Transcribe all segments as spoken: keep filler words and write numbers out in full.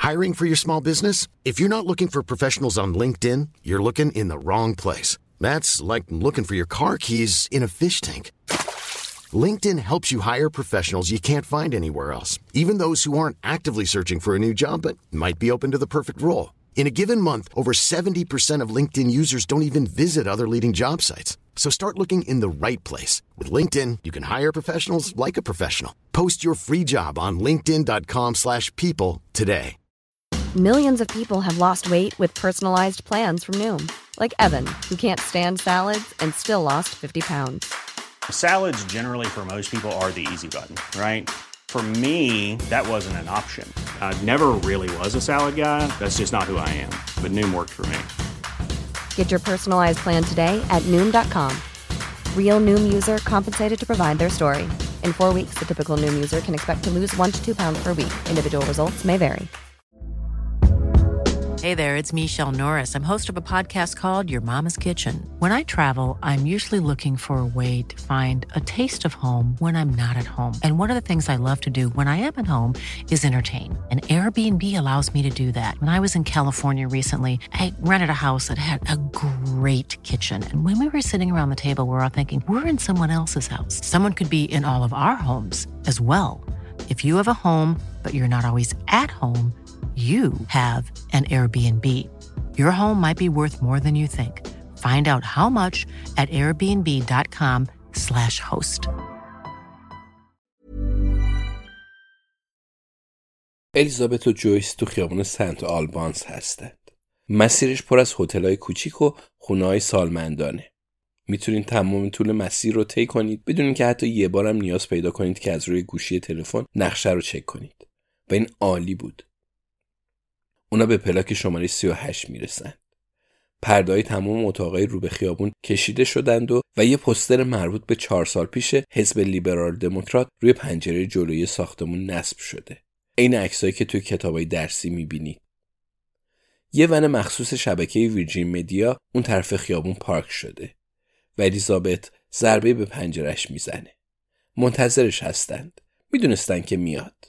Hiring for your small business? If you're not looking for professionals on LinkedIn, you're looking in the wrong place. That's like looking for your car keys in a fish tank. LinkedIn helps you hire professionals you can't find anywhere else, even those who aren't actively searching for a new job but might be open to the perfect role. In a given month, over seventy percent of LinkedIn users don't even visit other leading job sites. So start looking in the right place. With LinkedIn, you can hire professionals like a professional. Post your free job on linkedin.com slash people today. Millions of people have lost weight with personalized plans from Noom. Like Evan, who can't stand salads and still lost fifty pounds. Salads generally for most people are the easy button, right? For me, that wasn't an option. I never really was a salad guy. That's just not who I am. But Noom worked for me. Get your personalized plan today at Noom dot com. Real Noom user compensated to provide their story. In four weeks, the typical Noom user can expect to lose one to two pounds per week. Individual results may vary. Hey there, it's Michelle Norris. I'm host of a podcast called Your Mama's Kitchen. When I travel, I'm usually looking for a way to find a taste of home when I'm not at home. And one of the things I love to do when I am at home is entertain. And Airbnb allows me to do that. When I was in California recently, I rented a house that had a great kitchen. And when we were sitting around the table, we were all thinking, we're in someone else's house. Someone could be in all of our homes as well. If you have a home, but you're not always at home, you have an Airbnb. Your home might be worth more than you think. Find out how much at airbnb.com slash host. الیزابت و جویس تو خیابان سنت آلبانس هستند. مسیرش پر از هتل‌های کوچیک و خونه‌های سالمندانه. میتونید تمام طول مسیر رو طی کنید بدون اینکه حتی یه بارم نیاز پیدا کنید که از روی گوشی تلفن نقشه رو چک کنید. و این عالی بود. اونا به پلاک شماره سی و هشت میرسن. پرده‌های تمام اتاقای رو به خیابون کشیده شدند و و یه پوستر مربوط به چهار سال پیش حزب لیبرال دموکرات روی پنجره جلویی ساختمون نصب شده. این عکسایی که توی کتابای درسی میبینید. یه ون مخصوص شبکه ویرجین مدیا اون طرف خیابون پارک شده و الیزابت ضربه به پنجرهش میزنه. منتظرش هستند. میدونستن که میاد.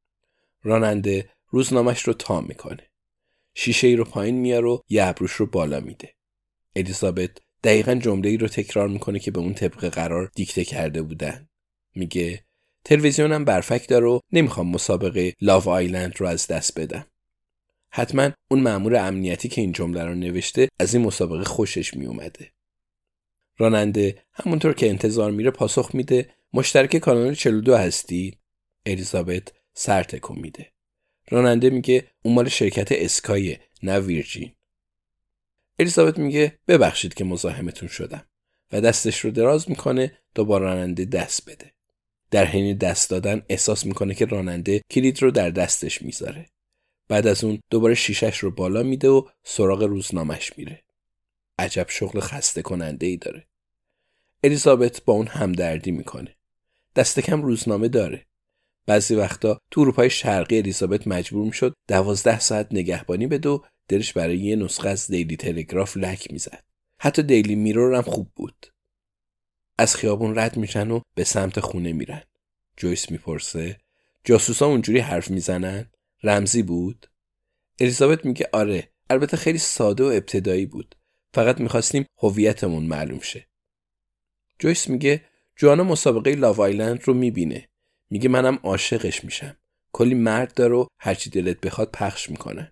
راننده روزنامه‌اش رو تا میکنه. شیشه ای رو پایین میاره و یه ابروش رو بالا میده. الیزابت دقیقاً جمله‌ای رو تکرار میکنه که به اون طبق قرار دیکته کرده بودن. میگه تلویزیونم برفک داره و نمیخوام مسابقه لاو آیلند رو از دست بدم. حتما اون مأمور امنیتی که این جمله رو نوشته از این مسابقه خوشش میومده. راننده همونطور که انتظار میره پاسخ میده مشترک کانال چهل و دو هستی؟ الیزابت سر تکون میده. راننده میگه اون مال شرکت اسکایه نه ویرجین. الیزابت میگه ببخشید که مزاحمتون شدم و دستش رو دراز میکنه تا با راننده دست بده. در حین دست دادن احساس میکنه که راننده کلید رو در دستش میذاره. بعد از اون دوباره شیشش رو بالا میده و سراغ روزنامه‌اش میره. عجب شغل خسته کننده ای داره. الیزابت با اون همدردی میکنه. دست کم روزنامه داره. بعضی وقتا تو اروپای شرقی الیزابت مجبور میشد دوازده ساعت نگهبانی بده و دلش برای یه نسخه از دیلی تلگراف لک میزد. حتی دیلی میرور هم خوب بود. از خیابون رد میشن و به سمت خونه میرن. جویس میپرسه جاسوسا اونجوری حرف میزنن؟ رمزی بود؟ الیزابت میگه آره، البته خیلی ساده و ابتدایی بود. فقط میخواستیم هویتمون معلوم شه. جویس میگه جوانا مسابقه لاو آیلند رو میبینه. میگه منم عاشقش میشم. کلی مرد داره و هرچی دلت بخواد پخش میکنن.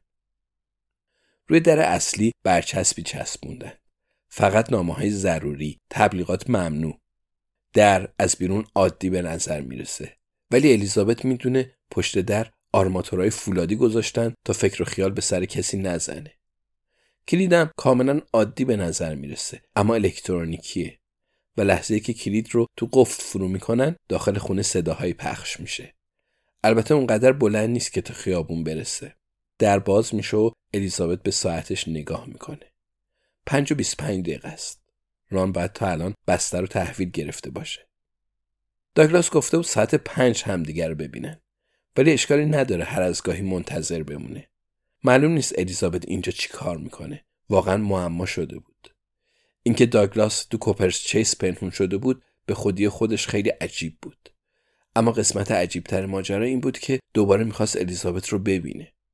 روی در اصلی برچسبی چسبوندن. فقط نامه‌های ضروری، تبلیغات ممنوع. در از بیرون عادی به نظر میرسه. ولی الیزابت میدونه پشت در آرماتورهای فولادی گذاشتن تا فکر و خیال به سر کسی نزنه. کلیدم کاملا عادی به نظر میرسه اما الکترونیکیه و لحظه‌ای که کلید رو تو قفل فرو میکنن داخل خونه صداهایی پخش میشه. البته اونقدر بلند نیست که تا خیابون برسه. در باز میشه و الیزابت به ساعتش نگاه میکنه. پنج و بیست و پنج دقیقه است. ران باید تا الان بستر رو تحویل گرفته باشه. داگلاس گفته بود ساعت پنج همدیگر رو ببینن. ولی اشکالی نداره هر از گاهی منتظر بمونه. معلوم نیست الیزابت اینجا چی کار میکنه. واقعا معما شده بود. اینکه داگلاس تو کوپرس چیس پنهون شده بود به خودی خودش خیلی عجیب بود. اما قسمت عجیبتر ماجرا این بود که دوباره میخواست الیزابت رو ببینه.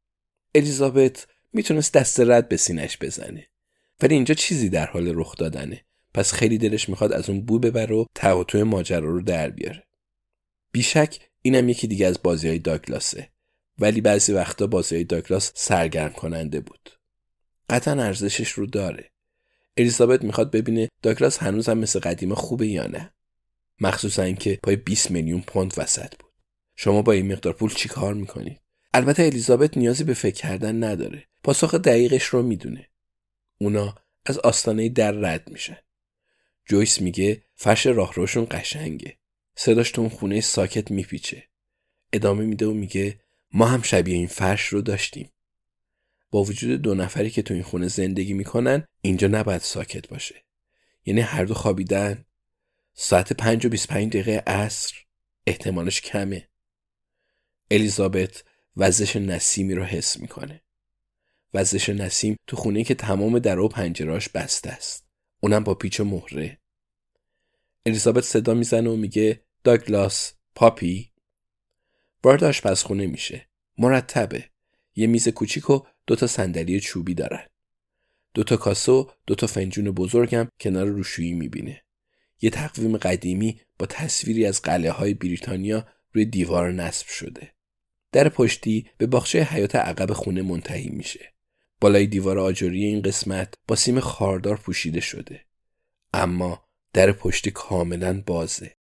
الیزابت میتونست دست رد به سینش بزنه، ولی اینجا چیزی در حال رخ دادنه. پس خیلی دلش میخواد از اون بو ببره و تقاطع ماجرا رو در بیاره. بیشک اینم یکی دیگه از بازی‌های داگلاسه، ولی بعضی وقتا بازی‌های داگلاس سرگرم کننده بود. قطعاً ارزشش رو داره. الیزابت میخواد ببینه داگلاس هنوزم مثل قدیم خوبه یا نه. مخصوصا اینکه پای بیست میلیون پوند وسط بود. شما با این مقدار پول چی کار میکنید؟ البته الیزابت نیازی به فکر کردن نداره. پاسخ دقیقش رو میدونه. اونا از آستانه در رد میشن. جویس میگه فرش راهروشون قشنگه. صداش تو اون خونه ساکت میپیچه. ادامه میده و میگه ما هم شبیه این فرش رو داشتیم. با وجود دو نفری که تو این خونه زندگی میکنن اینجا نباید ساکت باشه. یعنی هر دو خوابیدن. ساعت پنج و بیست و پنج دقیقه عصر احتمالش کمه. الیزابت وزش نسیمی رو حس میکنه. وزش نسیم تو خونه که تمام در و پنجراش بسته است. اونم با پیچ و مهره. الیزابت صدا میزنه و میگه داگلاس، پاپی. وارد آشپزخونه میشه. مرتبه. یه میز کوچیک و دو تا صندلی چوبی دارن. دو تا کاسه و دو تا فنجون بزرگم کنار روشویی میبینه. یه تقویم قدیمی با تصویری از قلعه‌های بریتانیا روی دیوار نصب شده. در پشتی به باغچه حیاط عقب خونه منتهی میشه. بالای دیوار آجری این قسمت با سیم خاردار پوشیده شده. اما در پشتی کاملا بازه.